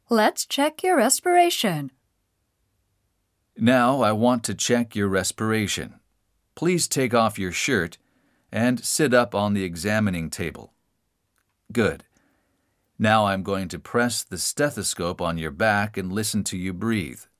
Let's check your respiration. Now I want to check your respiration. Please take off your shirt and sit up on the examining table. Good. Now I'm going to press the stethoscope on your back and listen to you breathe.